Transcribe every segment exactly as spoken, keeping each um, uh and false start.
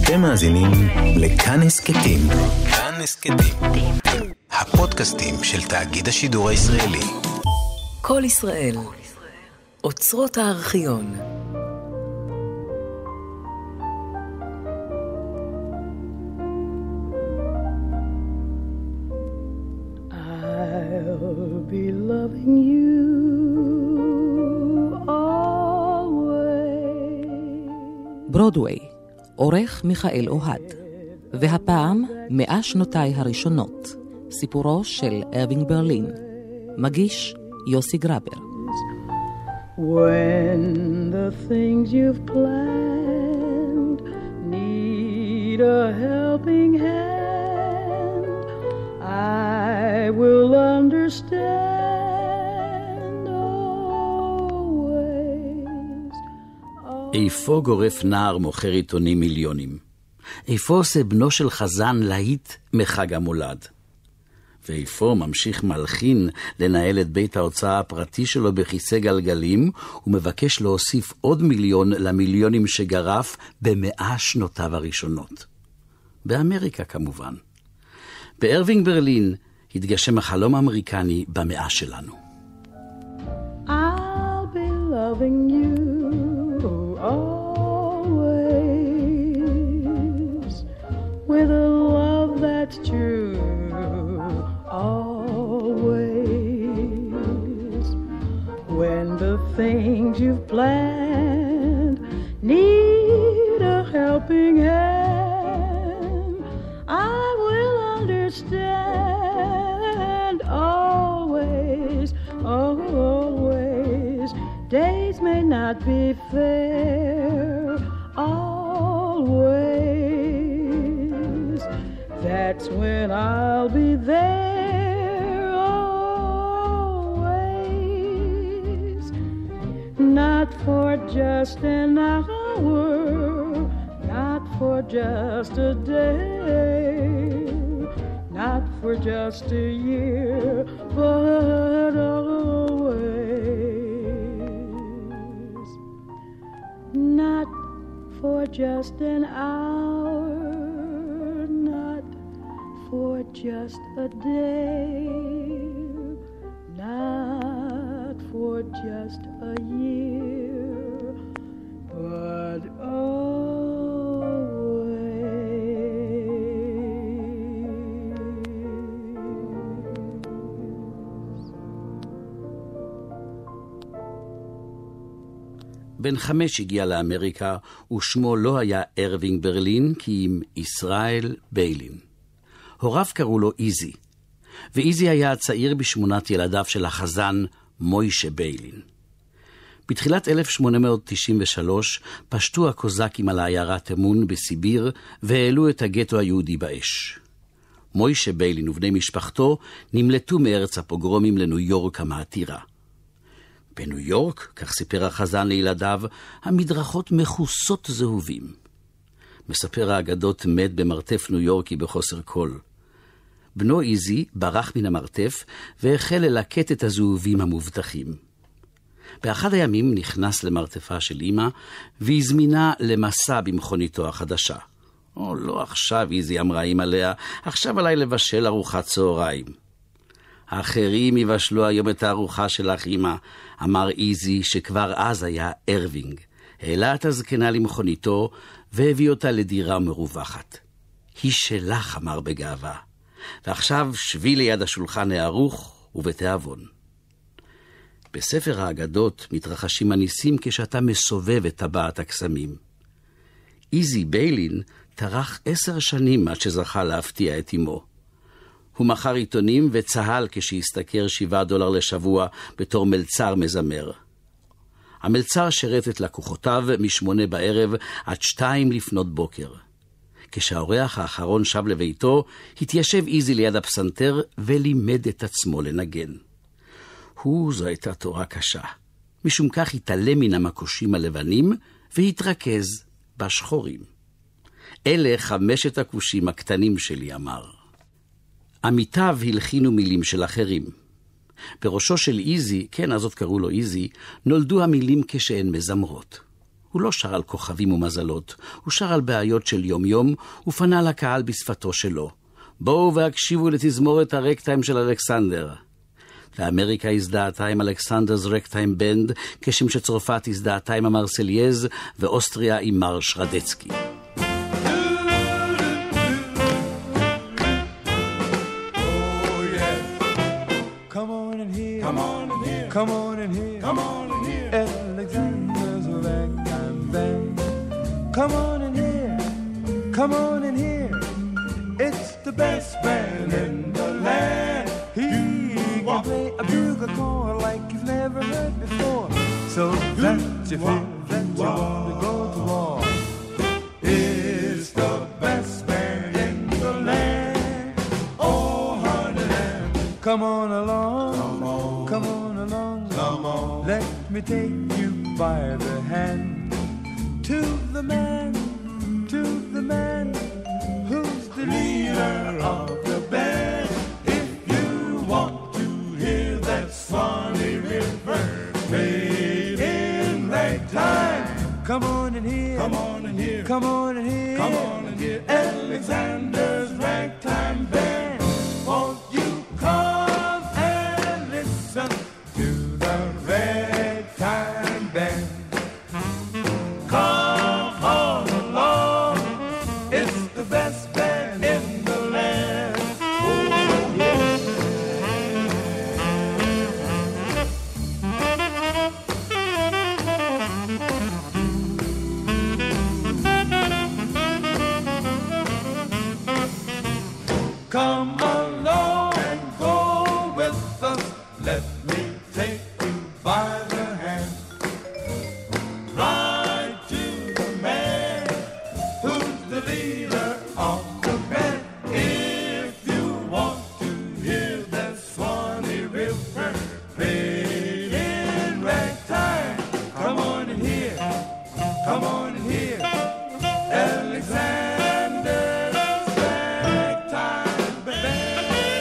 אתם מאזינים לכאן הסכתים. כאן הסכתים. הפודקאסטים של תאגיד השידור הישראלי. כל ישראל. אוצרות הארכיון. I'll be loving you always. ברודווי, עורך מיכאל אוהד, והפעם מאה שנותיי הראשונות, סיפורו של ארווינג ברלין, מגיש יוסי גרבר. When the things you've planned need a helping hand, I will understand always. איפה גורף נער מוכר עיתונים מיליונים? איפה עושה בנו של חזן להיט מחג המולד? ואיפה ממשיך מלחין לנהל את בית ההוצאה הפרטי שלו בכיסא גלגלים, ומבקש להוסיף עוד מיליון למיליונים שגרף במאה שנותיו הראשונות? באמריקה כמובן. בארווינג ברלין התגשם החלום האמריקני במאה שלנו. I'll be loving you always with a love that's true. Always, when the things you've planned need a helping hand, I will understand always, always. Days may not be fair, always. That's when I'll be there. Not for just an hour, not for just a day, not for just a year, but always. Not for just an hour, not for just a day, not for just a year, but always. בן חמש הגיע לאמריקה, ושמו לא היה ארווינג ברלין, כי אם ישראל ביילין. הוריו קראו לו איזי, ואיזי היה הצעיר בשמונת ילדיו של החזן מוישה ביילין. בתחילת אלף שמונה מאות תשעים ושלוש פשטו הקוזקים על העיירת אמון בסיביר והעלו את הגטו היהודי באש. מוישה ביילין ובני משפחתו נמלטו מארץ הפוגרומים לניו יורק המעתירה. בניו יורק, כך סיפר החזן לילדיו, המדרכות מחוסות זהובים. מספר האגדות מת במרתף ניו יורקי בחוסר קול. בנו איזי ברח מן המרתף והחל ללקט את הזהובים המובטחים. באחד הימים נכנס למרתפה של אמא והזמינה למסע במכוניתו החדשה. או לא עכשיו, איזי אמרה אמא לאה, עכשיו עליי לבשל ארוחת צהריים. האחרים יבשלו היום את הארוחה שלך אמא, אמר איזי שכבר אז היה ארווינג. העלה את הזקנה למכוניתו והביא אותה לדירה מרווחת. היא שלך, אמר בגאווה. ועכשיו שבי ליד השולחן הערוך ובתיאבון. בספר האגדות מתרחשים הניסים כשאתה מסובב את טבעת הקסמים. איזי ביילין טרח עשר שנים עד שזכה להפתיע את אמו. הוא מכר עיתונים וצהל כשהסתכר שבעה דולר לשבוע בתור מלצר מזמר. המלצר שרת את לקוחותיו משמונה בערב עד שתיים לפנות בוקר. כשהאורח האחרון שב לביתו, התיישב איזי ליד הפסנתר ולימד את עצמו לנגן. הוא, זו הייתה תורה קשה. משום כך התעלם מן המקושים הלבנים והתרכז בשחורים. אלה חמשת הכושים הקטנים שלי, אמר. עמיתיו הלחינו מילים של אחרים. בראשו של איזי, כן, אז עוד קראו לו איזי, נולדו המילים כשהן מזמרות. הוא לא שר על כוכבים ומזלות, הוא שר על בעיות של יום-יום, ופנה לקהל בשפתו שלו. בואו והקשיבו לתזמורת הרקטיים של אלכסנדר. ואמריקה הזדהתה עם אלכסנדר's רקטיים בנד, כשם שצרפת הזדהתה עם המרסלייז, ואוסטריה עם מרש רדצקי. Come on in here, come on in here, Alexander's ragtime band. Come on in here, come on in here, it's the best band in the land. He can play a bugle call like you've never heard before, so that you feel that you want to go to war. It's the best band in the land. Oh, honey, come on along, come on, come on. Come on. Let me take you by the hand to the man, to the man who's the leader of the band. If you want to hear that Swanee River fade in ragtime, come on in here, come on in here, come on in here, come on in here, Alexander's ragtime band. Won't you come and listen to the ragtime band? Come on along, it's the best band in the land. Oh, yeah. Come along and go with us, let me take you by the hand, right to the man who's the leader of the band. If you want to hear that Swanee River fade in ragtime, come on in here, come on in here, Alexander's ragtime band.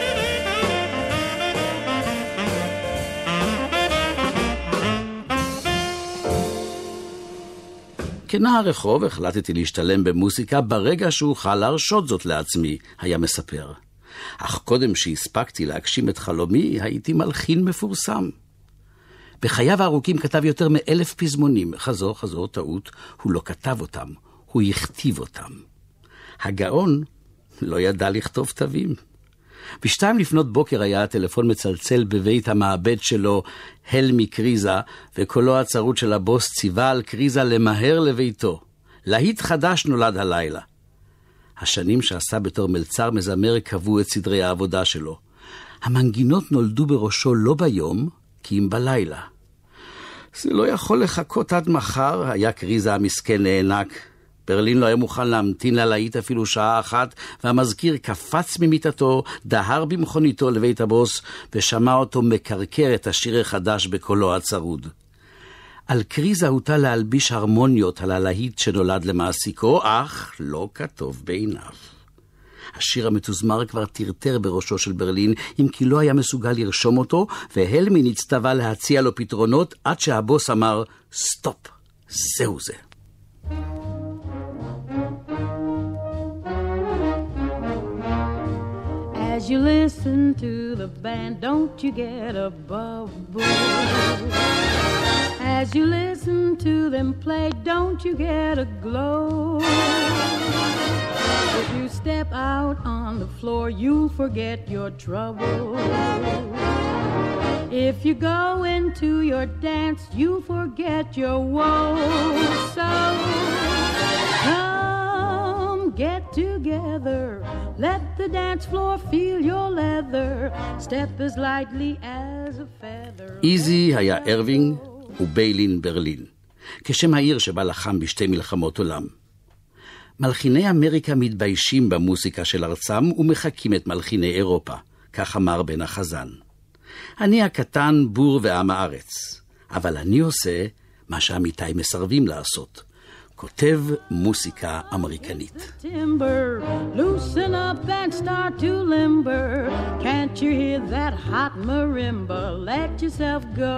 כנער רחוב החלטתי להשתלם במוסיקה ברגע שאוכל להרשות זאת לעצמי, היה מספר. אך קודם שהספקתי להגשים את חלומי, הייתי מלחין מפורסם. בחייו הארוכים כתב יותר מאלף פזמונים, חזור חזור טעות, הוא לא כתב אותם, הוא הכתיב אותם. הגאון לא ידע לכתוב תווים. בשתיים לפנות בוקר היה הטלפון מצלצל בבית המעבד שלו, הלמי קריזה, וקולו הצרות של הבוס ציווה על קריזה למהר לביתו. להיט חדש נולד הלילה. השנים שעשה בתור מלצר מזמר קבעו את סדרי העבודה שלו. המנגינות נולדו בראשו לא ביום, כי אם בלילה. זה לא יכול לחכות עד מחר, היה קריזה המסכן נענק. ברלין לא היה מוכן להמתין ללהיט אפילו שעה אחת, והמזכיר קפץ ממיטתו, דהר במכוניתו לבית הבוס, ושמע אותו מקרקר את השיר החדש בקולו הצרוד. על קריזה הוטל להלביש הרמוניות על הלהיט שנולד למעסיקו, אך לא כתוב בעיניו. השיר המתוזמר כבר טרטר בראשו של ברלין, אם כי לא היה מסוגל לרשום אותו, והלמי נצטווה להציע לו פתרונות, עד שהבוס אמר, סטופ, זהו זה. As you listen to the band, don't you get a bubble? As you listen to them play, don't you get a glow? If you step out on the floor, you'll forget your trouble. If you go into your dance, you'll forget your woe. So come get together, let the dance floor feel your leather, step as lightly as a feather. איזי היה ארווינג וביילין ברלין, כשם העיר שבה לחם בשתי מלחמות עולם. מלחיני אמריקה מתביישים במוסיקה של ארצם ומחקים את מלחיני אירופה, כך אמר בן החזן. אני הקטן בור ועם הארץ, אבל אני עושה מה שעמיתי מסרבים לעשות. כותב מוסיקה אמריקנית. Timber, loosen up and start to limber. Can't you hear that hot marimba? Let yourself go.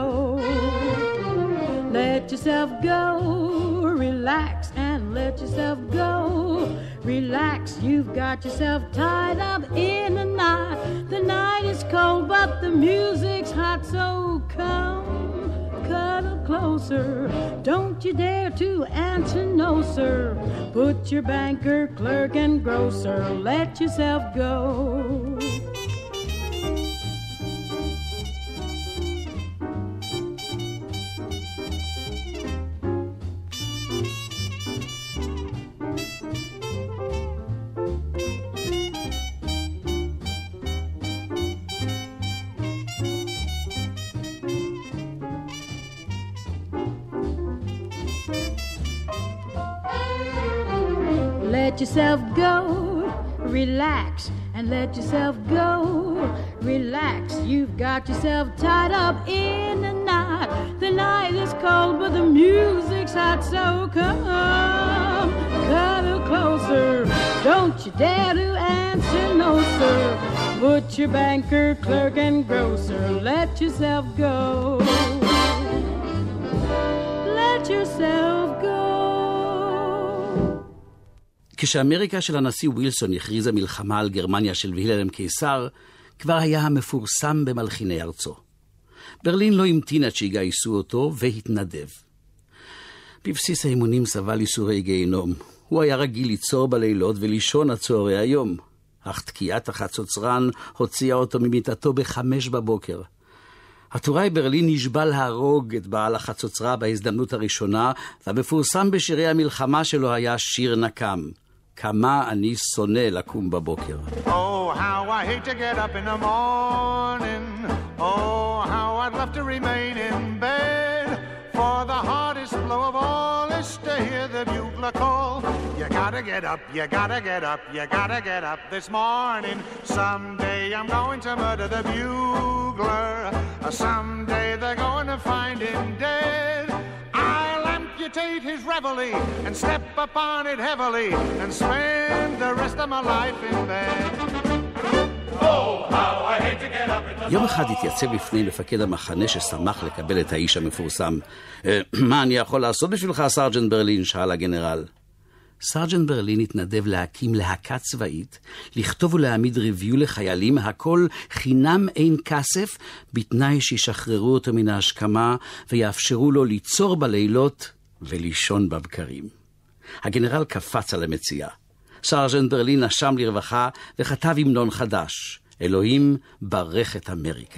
Let yourself go. Relax and let yourself go. Relax, you've got yourself tied up in a knot. The night is cold, but the music's hot, so come. Cuddle closer, don't you dare to answer no, sir. Put your banker, clerk, and grocer, let yourself go. Let yourself go, relax, and let yourself go, relax. You've got yourself tied up in a knot. The night is cold, but the music's hot, so come, cuddle closer. Don't you dare to answer no, sir. Put your banker, clerk, and grocer. Let yourself go. Let yourself go. כשאמריקה של הנשיא ווילסון הכריזה מלחמה על גרמניה של וילהלם קיסר, כבר היה המפורסם במלחיני ארצו. ברלין לא המתין עד שיגייסו אותו והתנדב. בבסיס האימונים סבל ייסורי גיהנום. הוא היה רגיל ליצור בלילות ולישון עד צהרי היום. אך תקיעת החצוצרן הוציאה אותו ממיטתו בחמש בבוקר. הטוראי ברלין נשבע להרוג את בעל החצוצרה בהזדמנות הראשונה, והמפורסם בשירי המלחמה שלו היה שיר נקם. כמה אני שונא לקום בבוקר. Oh, how I hate to get up in the morning. Oh, how I'd love to remain in bed. For the hardest blow of all is to hear the bugler call. You gotta get up, you gotta get up, you gotta get up this morning. Someday I'm going to murder the bugler. Someday they're going to find him dead. I'll amputate his reveille and step upon it heavily and spend the rest of my life in bed. יום אחד התייצב לפני מפקד המחנה ששמח לקבל את האיש המפורסם. מה אני יכול לעשות בשבילך, סרג'נט ברלין? שאל הגנרל. סרג'נט ברלין התנדב להקים להקה צבאית, לכתוב ולהעמיד ריוויו לחיילים, הכל חינם אין כסף, בתנאי שישחררו אותו מן ההשכמה ויאפשרו לו ליצור בלילות ולישון בבקרים. הגנרל קפץ על המציאה. סרג'נט ברלין נשם לרווחה וכתב המנון חדש, אלוהים ברך את אמריקה.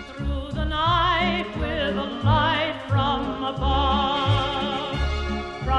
From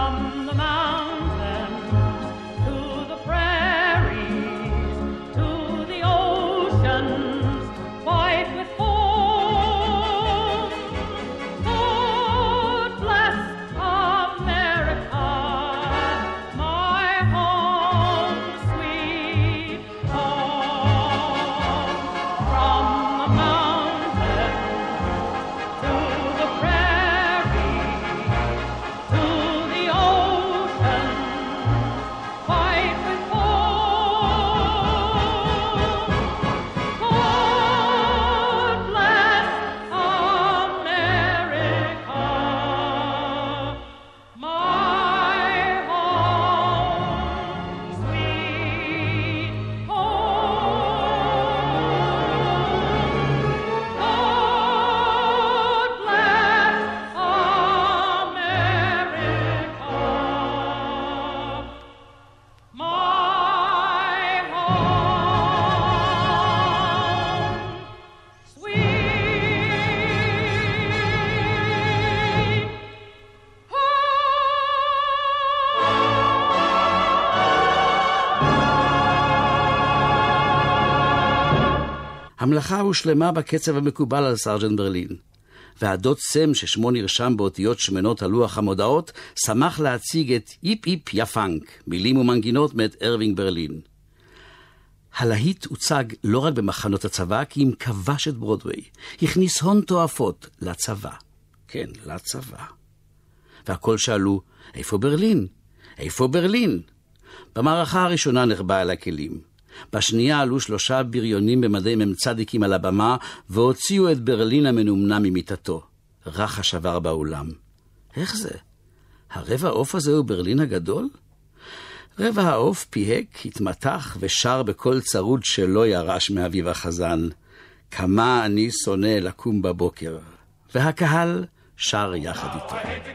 המלאכה הושלמה בקצב המקובל על סרג'נט ברלין, והדוד סם ששמו נרשם באותיות שמנות על לוח המודעות, שמח להציג את איפ איפ יא פאנק, מילים ומנגינות מאת ארווינג ברלין. הלהיט הוצג לא רק במחנות הצבא, כי אם כבש את ברודווי, הכניס הון תועפות לצבא. כן, לצבא. והכל שאלו, איפה ברלין? איפה ברלין? במערכה הראשונה נחבא אל הכלים. בשנייה עלו שלושה בריונים במדי ממצדיקים על הבמה, והוציאו את ברלין המנומנה ממיטתו. רחש עבר באולם. איך זה? הרבע העוף הזה הוא ברלין הגדול? רבע העוף פיהק, התמתח ושר בכל צרוד שלא ירש מאביב החזן. כמה אני שונא לקום בבוקר. והקהל שר יחד איתו.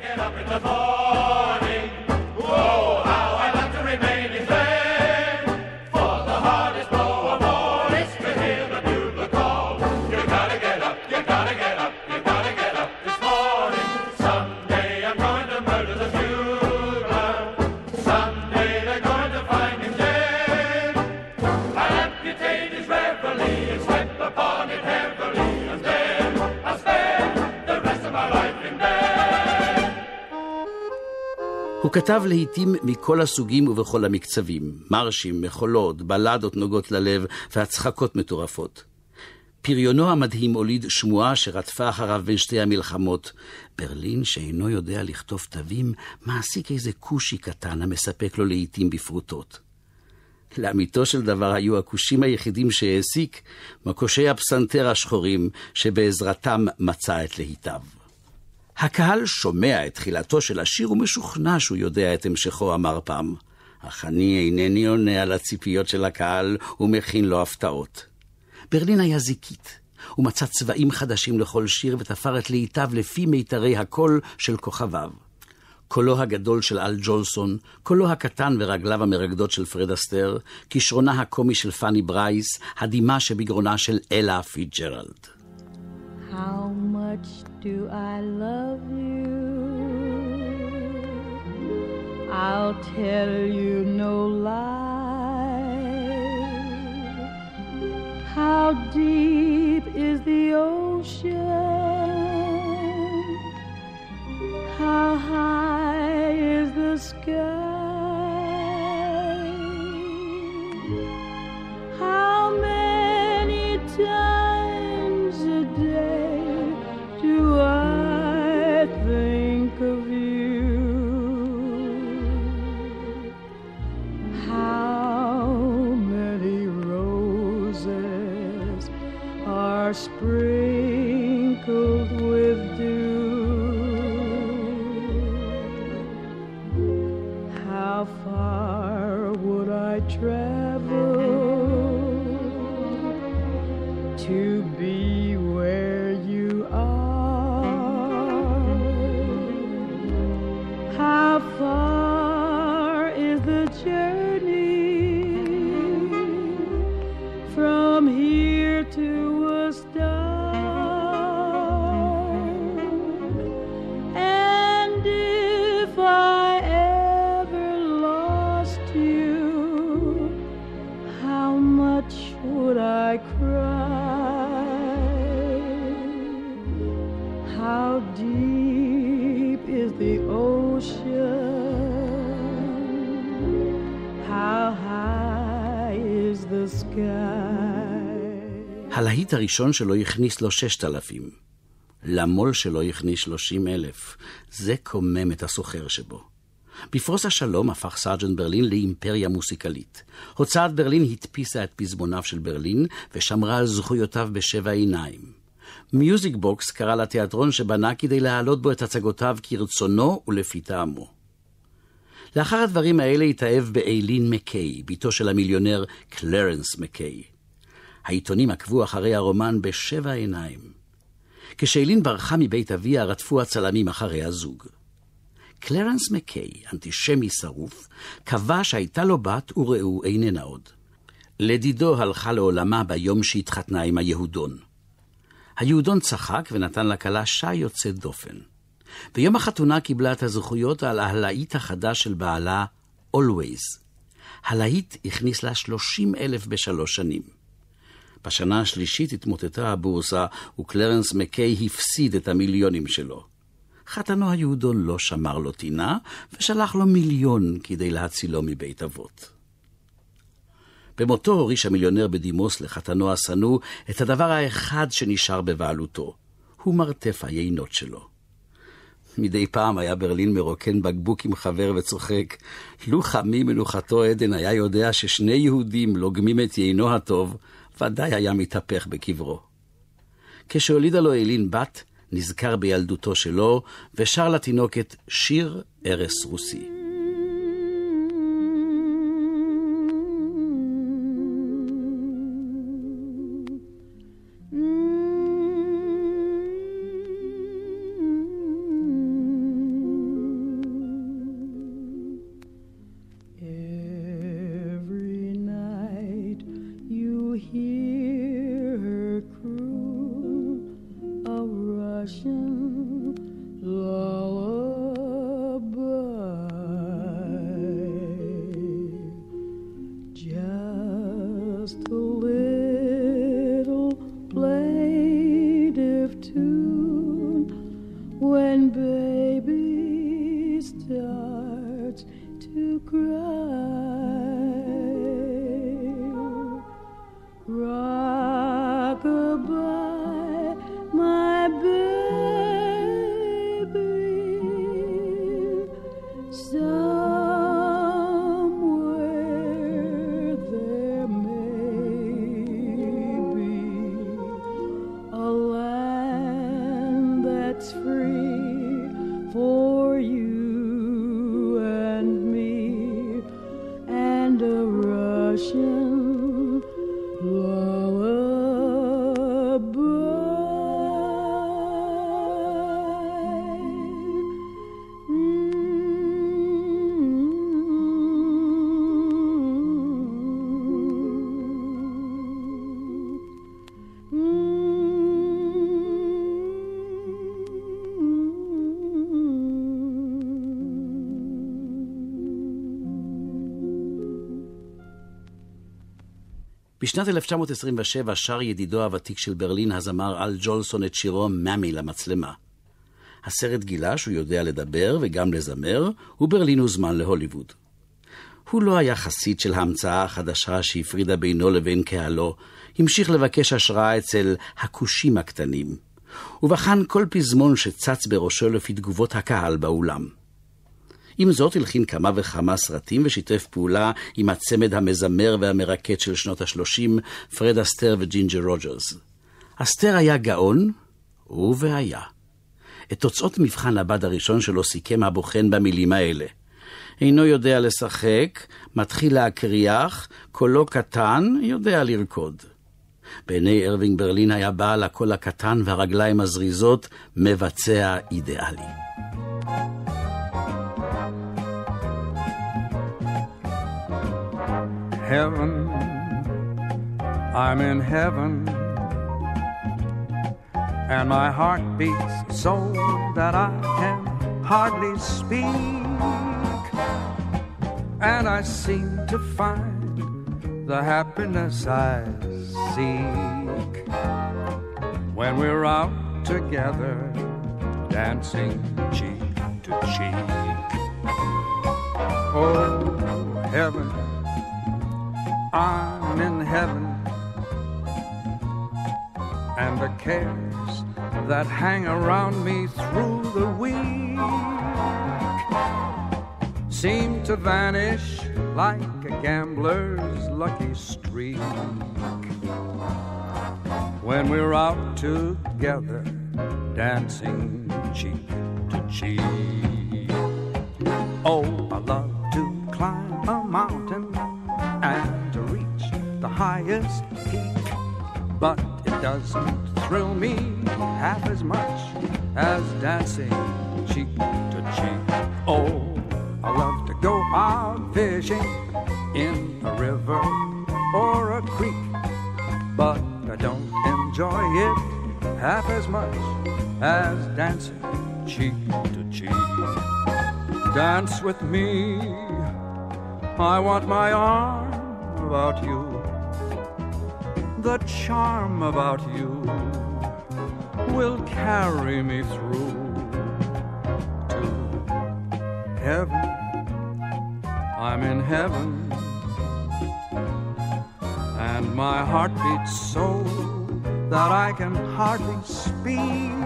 הוא כתב להיטים מכל הסוגים ובכל המקצבים, מרשים, מחולות, בלדות נוגות ללב והצחקות מטורפות. פריונו המדהים הוליד שמועה שרדפה אחריו בין שתי המלחמות. ברלין שאינו יודע לכתוב תווים, מעסיק איזה קושי קטן המספק לו להיטים בפרוטות. לאמיתו של דבר היו הקושים היחידים שהעסיק מקושי הפסנתר השחורים שבעזרתם מצא את להיטיו. הקהל שומע את תחילתו של השיר ומשוכנע שהוא יודע את המשכו, אמר פעם. אך אני אינני עונה על הציפיות של הקהל ומכין לו הפתעות. ברלין היה זיקית. הוא מצא צבעים חדשים לכל שיר ותפר את להיטיו לפי מיתרי הקול של כוכביו. קולו הגדול של אל ג'ולסון, קולו הקטן ורגליו המרגדות של פרד אסטר, כישרונה הקומי של פאני ברייס, הדימה שבגרונה של אלה פיטג'רלד. How much do I love you? I'll tell you no lie. How deep is the ocean? How high is the sky? How many times a day do I think of you? How many roses are sprinkled with dew? How far would I travel to be where you are? How far is the journey from here to a star? And if I ever lost you, how much would I cry? How deep is the ocean? How high is the sky? הלהיט הראשון שלו הכניס לו ששת אלפים. למול שלו הכניס שלושים אלף. זה קומם את הסוחר שבו. בפרוס השלום הפך סרג'נט ברלין לאימפריה מוסיקלית. הוצאת ברלין הדפיסה את פזמוניו של ברלין ושמרה על זכויותיו בשבע עיניים. מיוזיק בוקס קרא לתיאטרון שבנה כדי להעלות בו את הצגותיו כרצונו ולפי טעמו. לאחר הדברים האלה התאהב באיילין מקיי, ביתו של המיליונר קלרנס מקיי. העיתונים עקבו אחרי הרומן בשבע עיניים. כשאיילין ברחה מבית אביה רדפו הצלמים אחרי הזוג. קלרנס מקיי, אנטישמי שרוף, קבע שהייתה לו בת ורעו איננה עוד. לדידו הלכה לעולמה ביום שהתחתנה עם היהודון. היהודון צחק ונתן לכלה שי יוצא דופן. ביום החתונה קיבלה את הזכויות על הלהיט החדש של בעלה, Always. הלהיט הכניס לה שלושים אלף בשלוש שנים. בשנה השלישית התמוטטה הבורסה, וקלרנס מקיי הפסיד את המיליונים שלו. חתנו היהודון לא שמר לו טינה, ושלח לו מיליון כדי להצילו מבית אבות. במותו הוריש המיליונר בדימוס לחתנו השנוא את הדבר האחד שנשאר בבעלותו, הוא מרתף היינות שלו. מדי פעם היה ברלין מרוקן בקבוק עם חבר וצוחק, לו חמי מנוחתו עדן היה יודע ששני יהודים לוגמים את יינו הטוב, ודאי היה מתהפך בקברו. כשהולידה לו אילין בת, נזכר בילדותו שלו, ושר לתינוקת שיר ערש רוסי. בשנת אלף תשע מאות עשרים ושבע שר ידידו הוותיק של ברלין, הזמר אל ג'ולסון, את שירו "מאמי" למצלמה. הסרט גילה שהוא יודע לדבר וגם לזמר, וברלין הוזמן להוליווד. הוא לא היה חסיד של ההמצאה החדשה שהפרידה בינו לבין קהלו, המשיך לבקש השראה אצל הכושים הקטנים, ובחן כל פזמון שצץ בראשו לפי תגובות הקהל באולם. עם זאת הלחין כמה וכמה סרטים ושיתף פעולה עם הצמד המזמר והמרקט של שנות השלושים, פרד אסטר וג'ינג'ר רוג'רס. אסטר היה גאון, ובהיה. את תוצאות מבחן הבד הראשון שלו סיכם הבוחן במילים האלה. אינו יודע לשחק, מתחיל להקריח, קולו קטן, יודע לרקוד. בעיני ארווינג ברלין היה בעל הקול הקטן והרגליים הזריזות, מבצע אידיאלי. Heaven, I'm in heaven, and my heart beats so that I can hardly speak, and I seem to find the happiness I seek when we're out together, dancing cheek to cheek. Oh, heaven, I'm in heaven, and the cares that hang around me through the week seem to vanish like a gambler's lucky streak when we're out together, dancing cheek to cheek. Oh, I love to climb a mountain and to reach the highest peak, but it doesn't thrill me half as much as dancing cheek to cheek. Oh, I love to go out fishing in a river or a creek, but I don't enjoy it half as much as dancing cheek to cheek. Dance with me, I want my arm about you. the charm about you will carry me through to heaven. I'm in heaven, and my heart beats so that I can hardly speak,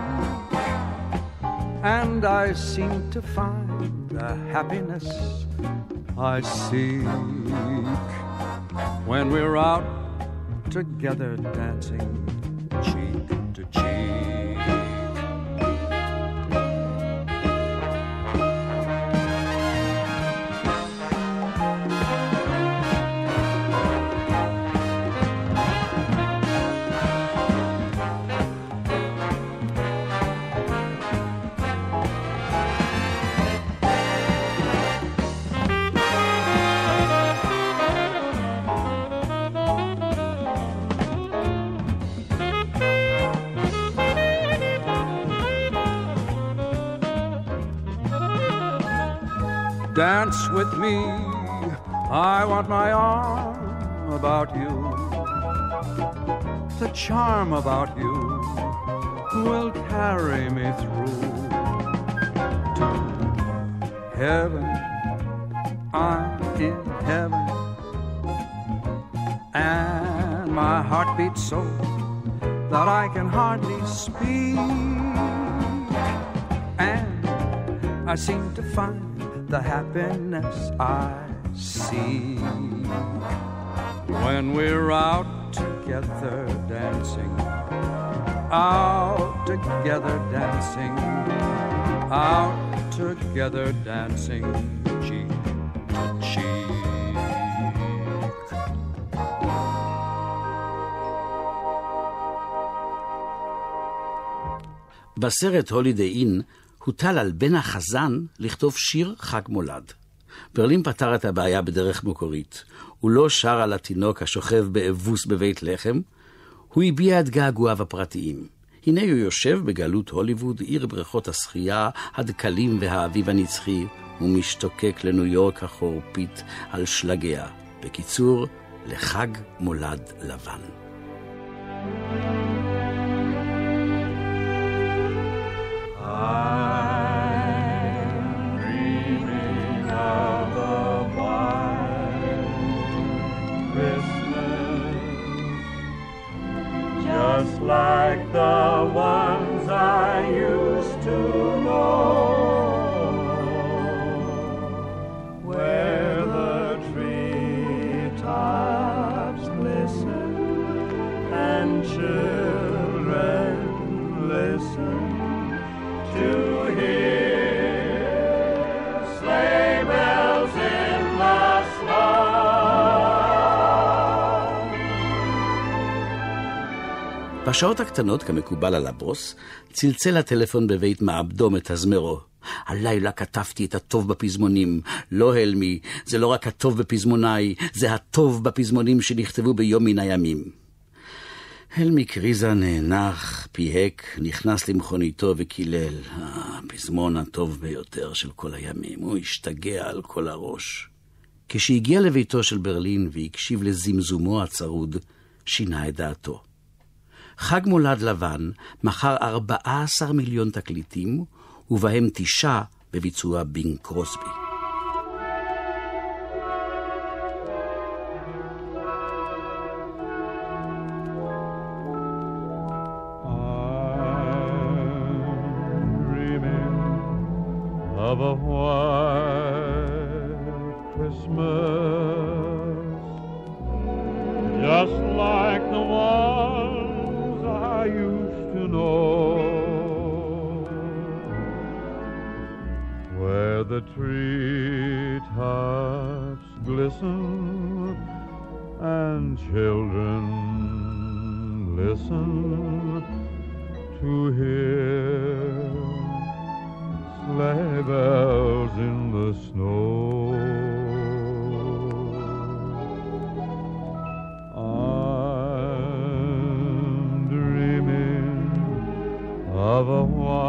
and I seem to find the happiness I seek when we're out together dancing cheek to cheek. Dance with me, I want my arm about you. The charm about you will carry me through to heaven. I'm in heaven, and my heart beats so that I can hardly speak, and I seem to find the happiness I see when we're out together dancing, out together dancing, out together dancing cheek to cheek. בסרט הולידיי אין הוטל על בן החזן לכתוב שיר חג מולד. ברלין פתר את הבעיה בדרך מקורית. הוא לא שר על התינוק השוכב באבוס בבית לחם, הוא הביע את געגועיו הפרטיים. הנה הוא יושב בגלות הוליווד, עיר בריכות השחייה, הדקלים והאביב הנצחי, ומשתוקק לניו יורק החורפית על שלגיה. בקיצור, לחג מולד לבן. Just like the ones I used to know, where the treetops glisten and children listen to hear sleigh bells in the snow. בשעות הקטנות, כמקובל על הבוס, צלצל הטלפון בבית מעבדו מתזמרו. הלילה כתבתי את הטוב בפזמונים. לא הלמי, זה לא רק הטוב בפזמוניי, זה הטוב בפזמונים שנכתבו ביום מן הימים. הלמי קריזה נאנח, פיהק, נכנס למכוניתו וקילל. הפזמון הטוב ביותר של כל הימים. הוא השתגע על כל הראש. כשהגיע לביתו של ברלין והקשיב לזמזומו הצרוד, שינה את דעתו. חג מולד לבן מכר ארבעה עשר מיליון תקליטים, ובהם תשעה בביצוע בינג קרוסבי. Of a white Christmas, just like the ones I used to know, where the treetops glisten and children listen to hear sleigh bells in the snow. I'm dreaming of a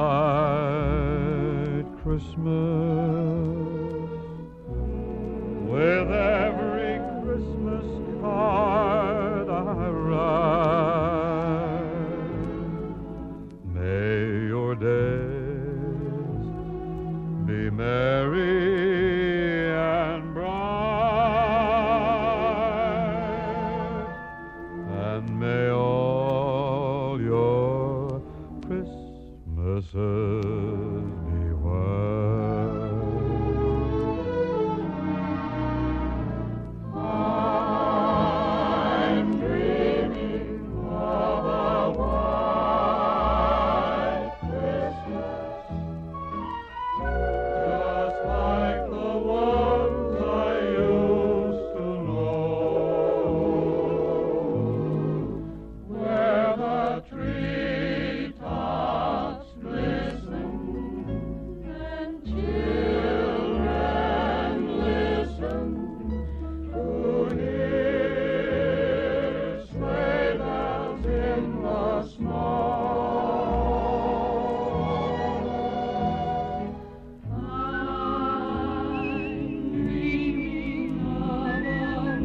white Christmas, with every Christmas card I write. Christmases beware. I'm dreaming of a white Christmas, just like the ones I used to know, where the treetops glisten and children listen to hear sleigh bells in the snow. I'm dreaming of a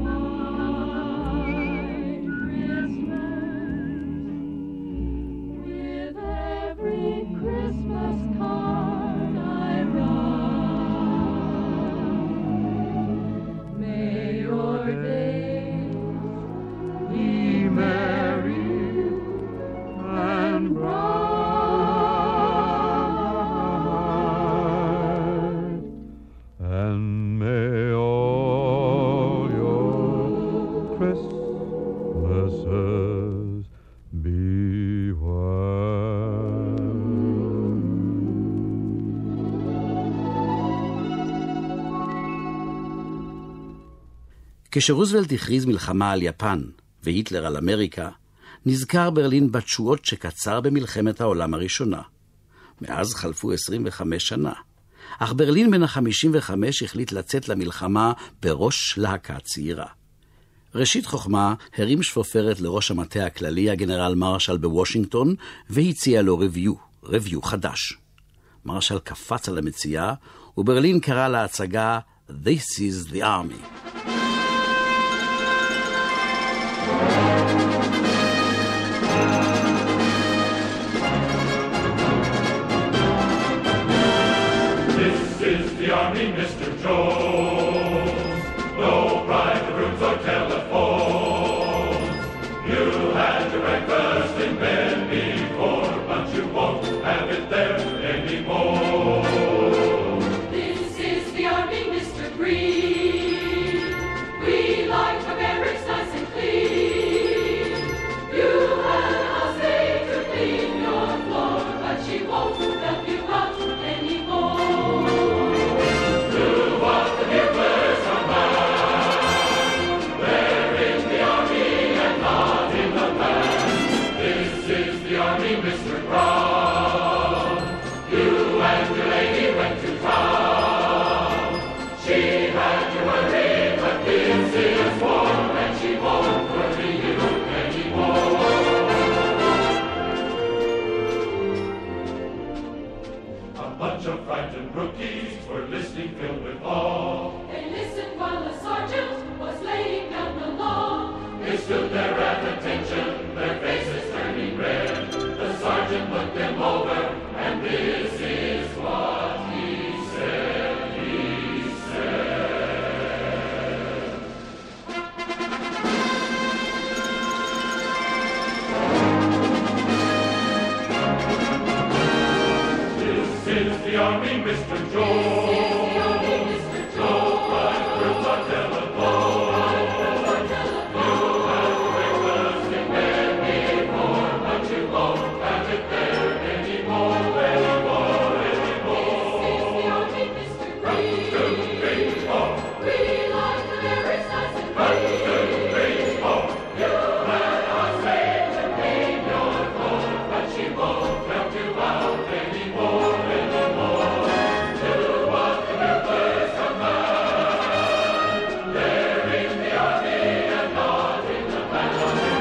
white Christmas, with every Christmas card I write. May your days be merry and bright, and may all your Christmases be white. כשרוזוולט הכריז מלחמה על יפן והיטלר על אמריקה, נזכר ברלין בתשואות שקצר במלחמת העולם הראשונה. מאז חלפו עשרים וחמש שנה, אך ברלין בן ה-חמישים וחמש החליט לצאת למלחמה בראש להקה צעירה. ראשית חוכמה הרים שפופרת לראש המטה הכללי הגנרל מרשל בוושינגטון והציע לו רביו, רביו חדש. מרשל קפץ על המציאה וברלין קרא להצגה This is the Army. This is the army, Mister Jones. No private rooms or telephones. You had your breakfast in bed before, but you won't have it there anymore. This is the army, Mister Green. We like the barracks nice and clean. You had a house day to clean your floor, but she won't help you out anymore. Do what the Hitlers are mad. They're in the army and not in the band. This is the army, Mister Brown. You and your lady went to town. She had you worried, but this is war, and she won't worry you anymore. A bunch of frightened rookies were listening, filled with awe. They listened while the sergeant was laying down the law. They stood there at attention, their faces turning red. The sergeant looked them over, and this is what he said. He said, This is the army, Mister Jones. No private rooms or telephones. You had breakfast in bed before, but you won't have it there anymore, anymore, anymore. One, two, three, four. We like the barracks nice and One, clean. two, three, four. You had a slave to clean your floor, but she won't help you out anymore, anymore. Do what the Hitlers command. They're in the army and not in the band.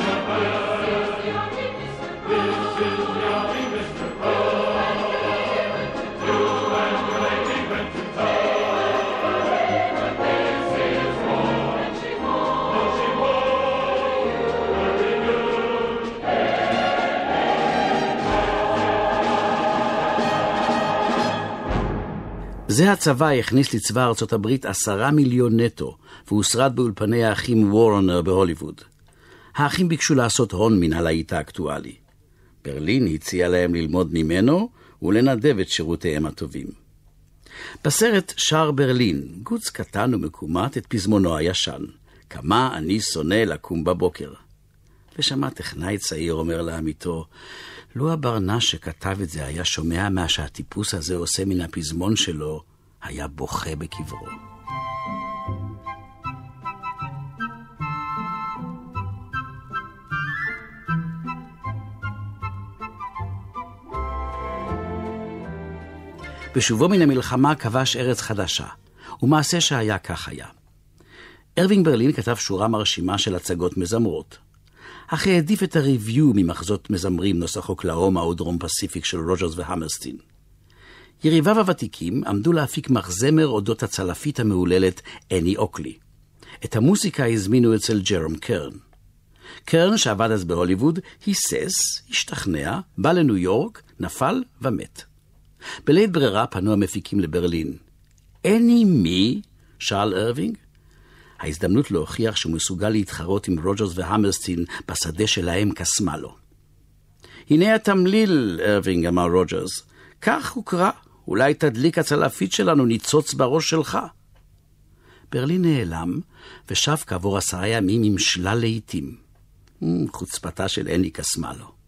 This is the army, Mister Brown. You and your lady went to town. This is war, and she won't, no, she won't worry you. זה הצבא הכניס לצבא ארצות הברית עשרה מיליון נטו, והוא שרד באולפני האחים וורנר בהוליווד. האחים ביקשו לעשות הון מן הלהיט האקטואלי. ברלין הציע להם ללמוד ממנו ולנדב את שירותיהם הטובים. בסרט שר ברלין, גוץ קטן ומקומט את פזמונו הישן, כמה אני שונא לקום בבוקר. ושמע טכנאי צעיר אומר לעמיתו, לו הברנש שכתב את זה היה שומע מה שהטיפוס הזה עושה מן הפזמון שלו, היה בוכה בקברו. בשובו מן המלחמה כבש ארץ חדשה, ומעשה שהיה כך היה. ארווינג ברלין כתב שורה מרשימה של הצגות מזמרות. אך העדיף את הריוויו ממחזות מזמרים נוסח אוקלהומה או דרום פסיפיק של רוג'רס והמרסטין. יריביו הוותיקים עמדו להפיק מחזמר אודות הצלפית המעוללת אני אוקלי. את המוסיקה הזמינו אצל ג'רום קרן. קרן, שעבד אז בהוליווד, היסס, השתכנע, בא לניו יורק, נפל ומת. בלית ברירה פנו המפיקים לברלין. אני מי? שאל ארווינג. ההזדמנות להוכיח שהוא מסוגל להתחרות עם רוג'רס והמרסטין בשדה שלהם קסמה לו. הנה התמליל, ארווינג, אמר רוג'רס. כך הוא קרא, אולי תדליק הצלפית שלנו ניצוץ בראש שלך. ברלין נעלם, ושב כעבור עשרה ימים עם שלל לעיתים. חוצפתה של אני קסמה לו.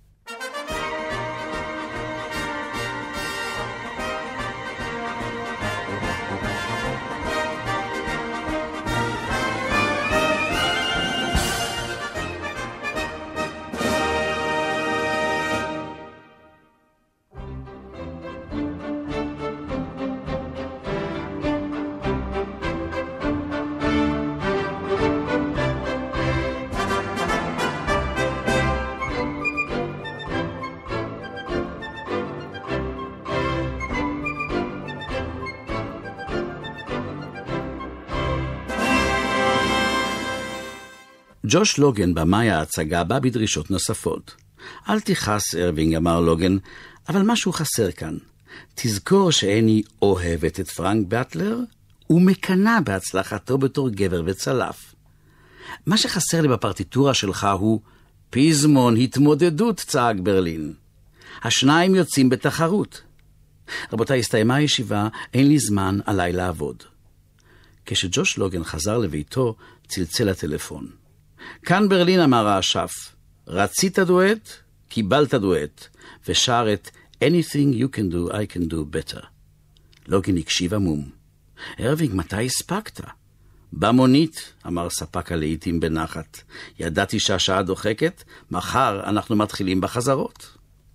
ג'וש לוגן במאי ההצגה בא בדרישות נוספות. אל תיחס, ארווינג, אמר לוגן, אבל משהו חסר כאן. תזכור שאני אוהבת את פרנק באטלר ומקנה בהצלחתו בתור גבר וצלף. מה שחסר לי בפרטיטורה שלך הוא פזמון התמודדות, צעק ברלין. השניים יוצאים בתחרות. רבותיי, הסתיימה הישיבה, אין לי זמן עליי לעבוד. כשג'וש לוגן חזר לביתו, צלצל הטלפון. כאן ברלין, אמר האשף, רצית דואט, קיבלת דואט, ושר את Anything you can do, I can do better. לוגן הקשיב עמום. ארווינג, מתי הספקת? במונית, אמר ספק הלעיתים בנחת. ידעתי שהשעה דוחקת, מחר אנחנו מתחילים בחזרות.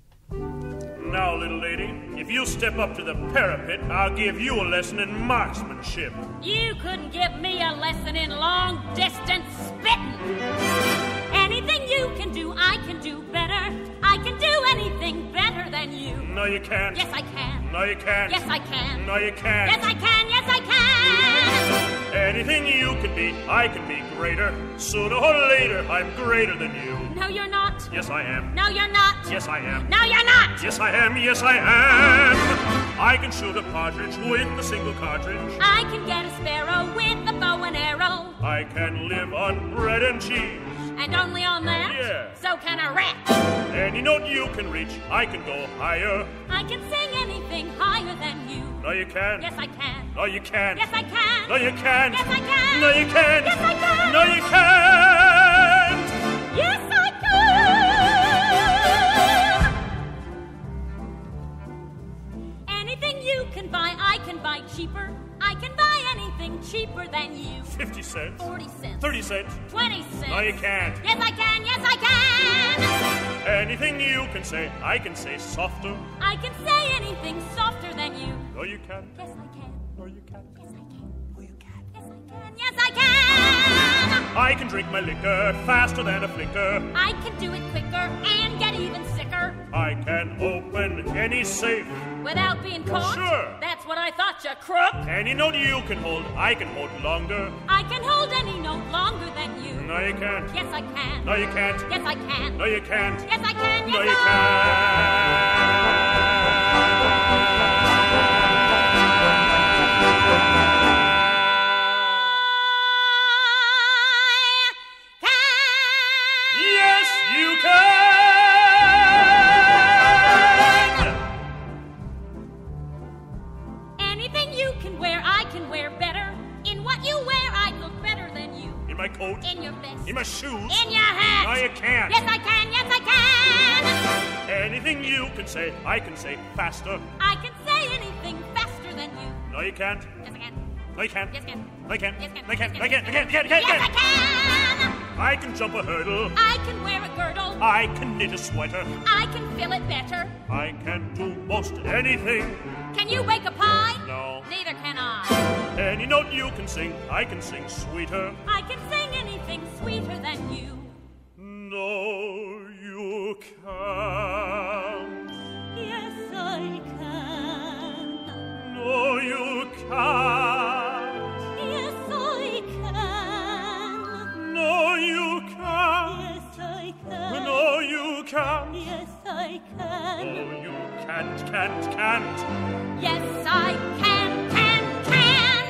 Now, little lady, if you step up to the parapet, I'll give you a lesson in marksmanship. You couldn't give me a lesson in long-distance spitting. Anything you can do, I can do better. I can do anything better than you. No, you can't. Yes, I can. No, you can't. Yes, I can. No, you can't. Yes, I can. Yes, I can. Anything you can be, I can be greater. Sooner or later, I'm greater than you. No, you're not. Yes, I am. No, you're not. Yes, I am. No, you're not. Yes, I am. Yes, I am. I can shoot a partridge with a single cartridge. I can get a sparrow with a bow and arrow. I can live on bread and cheese. And only on that? Yeah. So can a rat. Any note you can reach, I can go higher. I can sing anything higher than you. No, you can't. Yes, I can. No, you can't. Yes, I can. No, you can't. Yes, I can. No, you can't. Yes, I can. No, you can't. Yes, I can. Anything you can buy, I can buy cheaper. I can buy anything cheaper than you. Fifty cents. Forty cents. Thirty cents. Twenty cents. No, you can't. Yes, I can. Yes, I can. Anything you can say, I can say softer. I can say anything softer than you. No, you can't. Yes, I can. No, you can't. Yes, I can. No, you can't. Yes, I can. Yes, I can. I can drink my liquor faster than a flicker. I can do it quicker and get even sicker. I can open any safe. Without being caught? Sure. That's what I thought, you crook. Any note you can hold, I can hold longer. I can hold any note longer than you. No, you can't. Yes, I can. No, you can't. Yes, I can. No, you can't. Yes, I can. Yes, No, I you can say, I can say faster. I can say anything faster than you. No, you can't. Yes, I can. No, you can't. Yes, I can. No, you can't. Yes, I can. No, you can't. Yes, No, you can't. No, you can't. No, you can't. Yes, I can. I can jump a hurdle. I can wear a girdle. I can knit a sweater. I can fill it better. I can do most anything. Can you bake a pie? No. Neither can I. Any note you can sing, I can sing sweeter. I can sing anything sweeter than you. No, you can't. Yes, I can. No, you can't. Yes, I can. No, you can't. Yes, I can. No, you can't. Yes, I can. No, you can't, can't, can't. Yes, I can, can, can.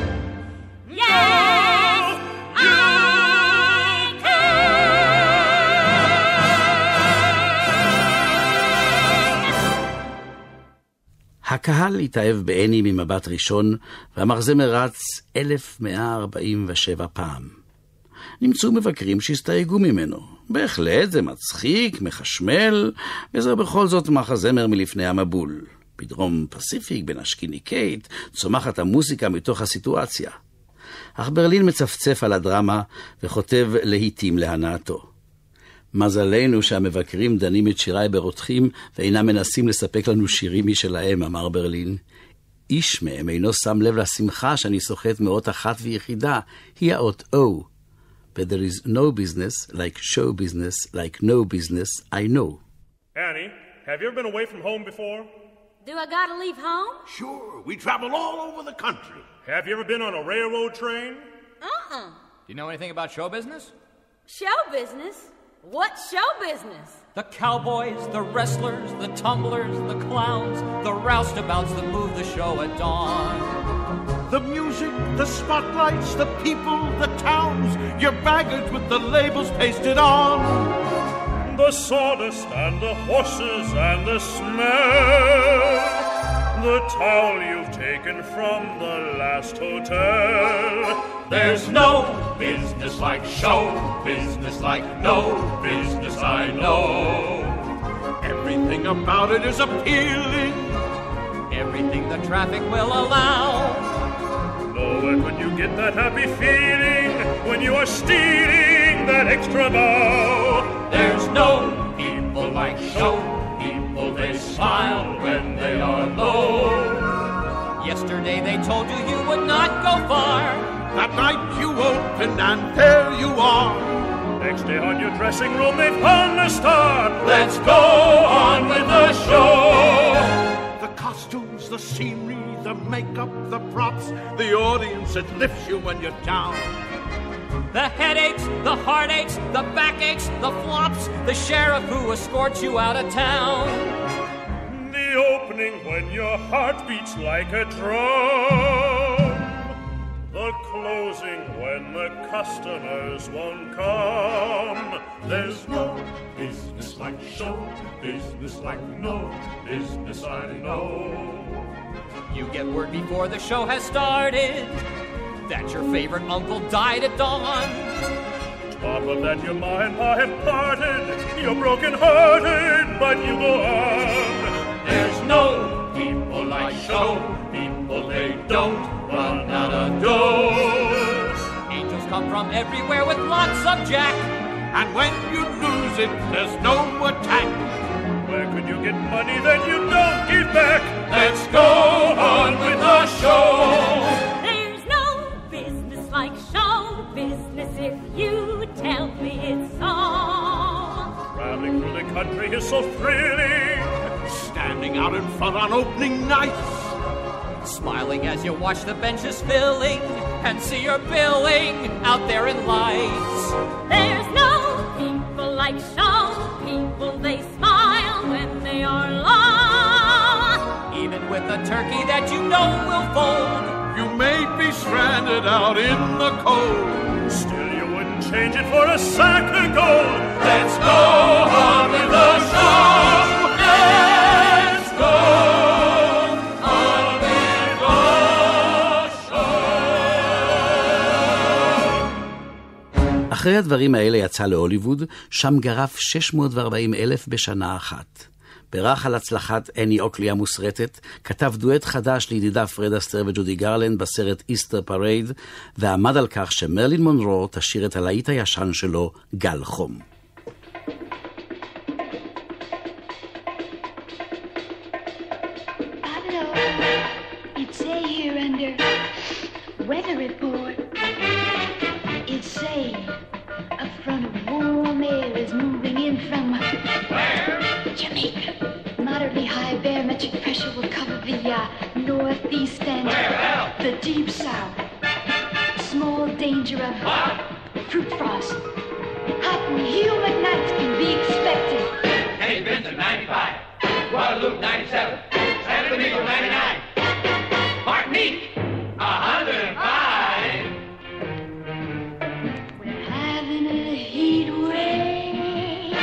Yes, I הקהל התאהב בעני ממבט ראשון, והמחזמר רץ אלף מאה ארבעים ושבע פעם. נמצאו מבקרים שהסתייגו ממנו. בהחלט זה מצחיק, מחשמל, וזה בכל זאת מחזמר מלפני המבול. בדרום פסיפיק, בין אשקיני קייט, צומחת המוסיקה מתוך הסיטואציה. אך ברלין מצפצף על הדרמה וכותב להיטים להנאתו. מזלנו שהמבקרים דנים את שיריי ברותחים ואינם מנסים לספק לנו שירים משלהם, אמר ברלין. איש מהם אינו שם לב לשמחה שאני סוחט מאות אחת ויחידה, היא האות O. But there is no business like show business like no business I know. Annie, have you ever been away from home before? Do I gotta leave home? Sure, we travel all over the country. Have you ever been on a railroad train? Uh-uh. Do you know anything about show business? Show business? What show business? The cowboys, the wrestlers, the tumblers, the clowns, the roustabouts that move the show at dawn. The music, the spotlights, the people, the towns, your baggage with the labels pasted on. The sawdust and the horses and the smell, the towel you've taken from the last hotel. There's no business like show business, like no business I know. Everything about it is appealing, everything the traffic will allow. Nowhere could you get that happy feeling when you are stealing that extra bow. There's no people like show people, they smile when they are low. Yesterday they told you you would not go far. That night you open and there you are. Next day on your dressing room they found a star. Let's go on with the show. The costumes, the scenery, the makeup, the props, the audience that lifts you when you're down. The headaches, the heartaches, the backaches, the flops, the sheriff who escorts you out of town. The opening when your heart beats like a drum. The closing when the customers won't come. There's no business like show business, like no business I know. You get word before the show has started that your favorite uncle died at dawn. Top of that your ma and pa have parted. You're broken hearted, but you go on. There's no people like show people, they don't run out of dough. Angels come from everywhere with lots of jack, and when you lose it, there's no attack. Where could you get money that you don't give back? Let's go on with the show. There's no business like show business if you tell me it's so. Traveling through the country is so thrilling. Standing out in front on opening nights, smiling as you watch the benches filling and see your billing out there in lights. There's no people like show people, they smile when they are low. Even with a turkey that you know will fold, you may be stranded out in the cold. Still you wouldn't change it for a sack of gold. Let's go on with the show. Let's go on with the show. אחרי הדברים האלה יצא להוליווד, שם גרף שש מאות וארבעים אלף בשנה אחת. ברח על הצלחת אני אוקלי המוסרטת, כתב דואט חדש לידידה פרד אסטר וג'ודי גרלנד בסרט איסטר פרייד, ועמד על כך שמרלין מונרו תשאיר את הלהיט הישן שלו גל חום. It's say here under weather report. It's say a front of warm air is moving in from where? Jamaica. Moderately high barometric pressure will cover the uh, northeast and the deep south. Small danger of what? Fruit frost. Hot and humid nights can be expected. Hey, Vincent, ninety-five. Guadalupe, ninety-seven. San Domingo, ninety-nine. Martinique, one hundred five. We're having a heat wave,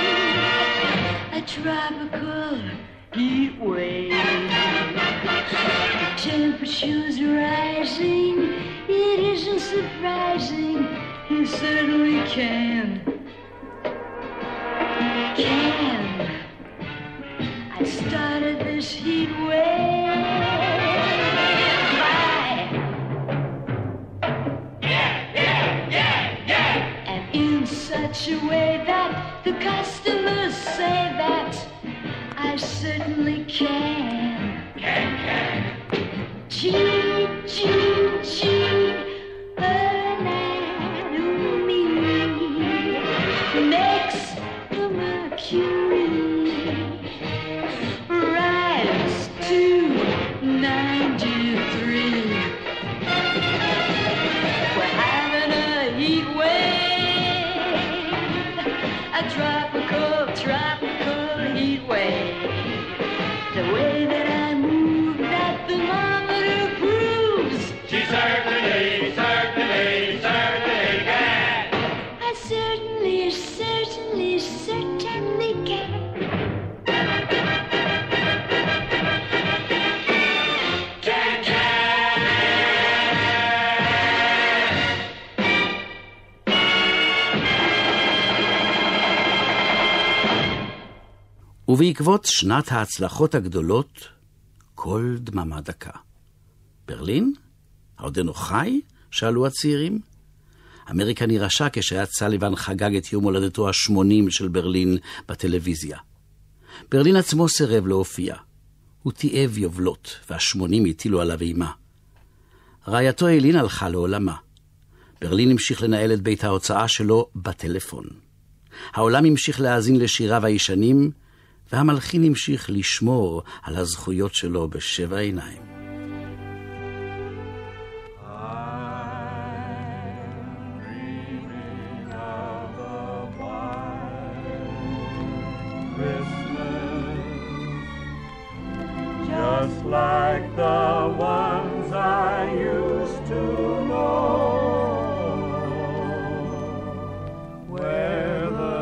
a tropical heat wave. Temperature's rising, it isn't surprising, you certainly can. Can. I started this heat wave. Such a way that the customers say that I certainly can. Can, can. Gee, gee, gee, anatomy makes the mercury rise to ninety-three. We're having a heat wave, a tropical, tropical heat wave. The way that I move, that thermometer proves. She certainly, certainly, certainly can. I certainly, certainly, certainly can. Can, can. ובעקבות שנת ההצלחות הגדולות, כל דממה דקה. ברלין? עודנו חי? שאלו הצעירים. אמריקה נרעשה כשעד סליבן חגג את יום הולדתו השמונים של ברלין בטלוויזיה. ברלין עצמו סירב להופיע. הוא תיעב יובלות, והשמונים הטילו עליו אימה. רעייתו אילין הלכה לעולמה. ברלין המשיך לנהל את בית ההוצאה שלו בטלפון. העולם המשיך להאזין לשיריו הישנים, והמלחין המשיך לשמור על הזכויות שלו בשבע עיניים. Just like the ones I used to know, where the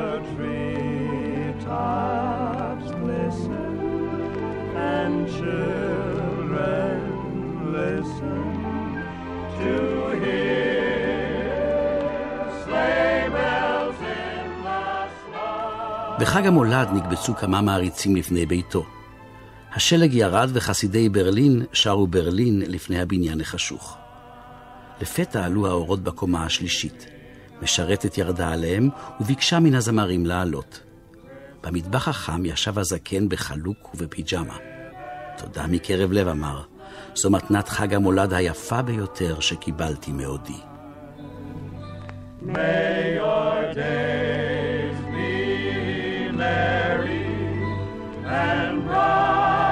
treetops glisten and children listen to hear sleigh bells in the snow. בחג המולד נקבצו כמה מעריצים לפני ביתו. השלג ירד וחסידי ברלין שרו ברלין לפני הבניין החשוך. לפתע עלו האורות בקומה השלישית. משרתת ירדה עליהם וביקשה מן הזמרים לעלות. במטבח החם ישב הזקן בחלוק ובפיג'מה. תודה מקרב לב, אמר. זו מתנת חג המולד היפה ביותר שקיבלתי מעודי. May your days be merry and bright.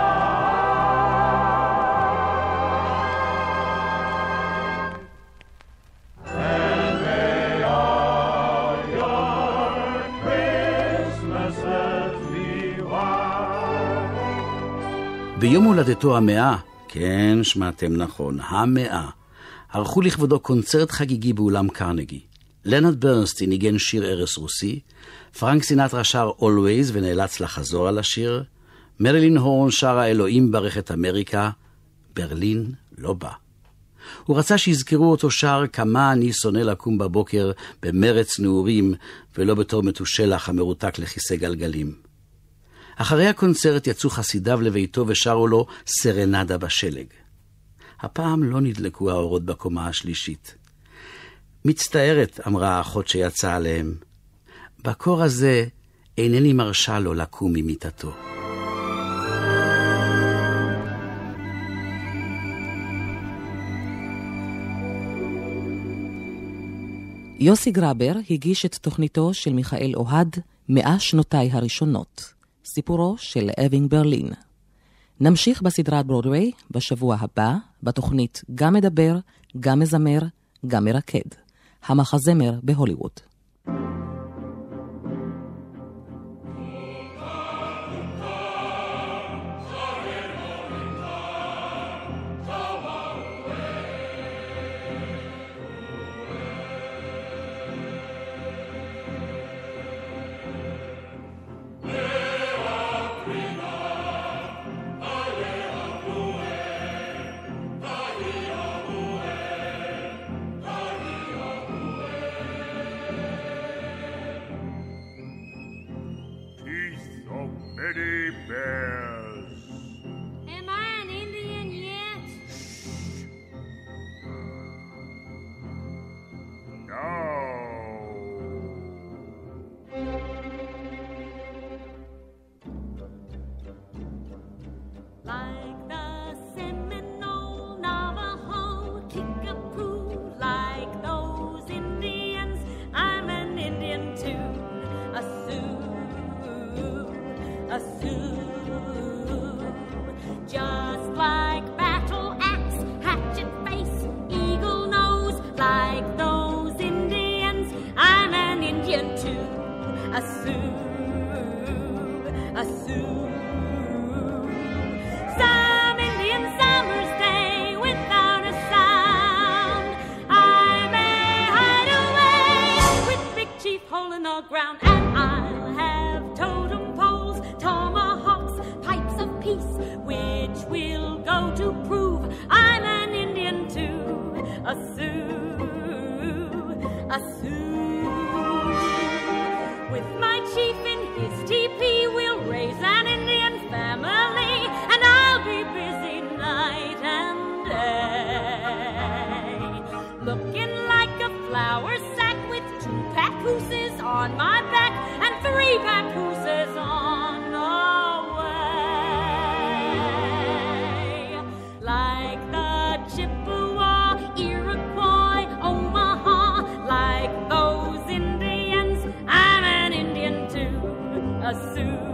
ביום הולדתו המאה, כן, שמעתם נכון, המאה, ערכו לכבודו קונצרט חגיגי באולם קרנגי. לנרד ברנסטין ניגן שיר ערש רוסי, פרנק סינטרה שר Always ונאלץ לחזור על השיר, מרילין הורן שרה אלוהים ברך את אמריקה, ברלין לא בא. הוא רצה שיזכרו אותו שר כמה אני שונא לקום בבוקר במרץ נעורים ולא בתור מתושלח המרותק לכיסא גלגלים. אחרי הקונצרט יצאו חסידיו לביתו ושרו לו סרנדה בשלג. הפעם לא נדלקו האורות בקומה השלישית. מצטערת, אמרה האחות שיצאה עליהם. בקור הזה אינני מרשה לו לקום ממיטתו. יוסי גרבר הגיש את תוכניתו של מיכאל אוהד מאה שנותיי הראשונות, סיפורו של ארווינג ברלין. נמשיך בסדרת ברודווי בשבוע הבא, בתוכנית גם מדבר, גם מזמר, גם מרקד. המחזמר בהוליווד. Many bears. Am I an Indian yet? No. Like the Seminole, Navajo, Kickapoo, like those Indians, I'm an Indian too. A Sioux. A Sioux, just like battle axe, hatchet face, eagle nose, like those Indians, I'm an Indian too. A Sioux, a Sioux. Some Indian summer's day without a sound, I may hide away with Big Chief hole in the ground, and I'll have totem poles, tomahawks, pipes of peace, which will go to prove I'm an Indian too. A Sioux, a Sioux. With my chief in his teepee, we'll raise an Indian family, and I'll be busy night and day, looking like a flour sack with two papooses on my back and three papooses on the way. Like the Chippewa, Iroquois, Omaha, like those Indians, I'm an Indian too. A Sioux,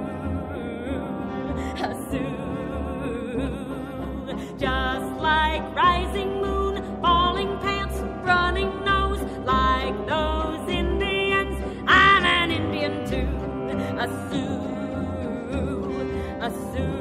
a Sioux. Just like rising moon, falling pants, running nose, like those Indians, I'm an Indian too. A Sioux, a Sioux.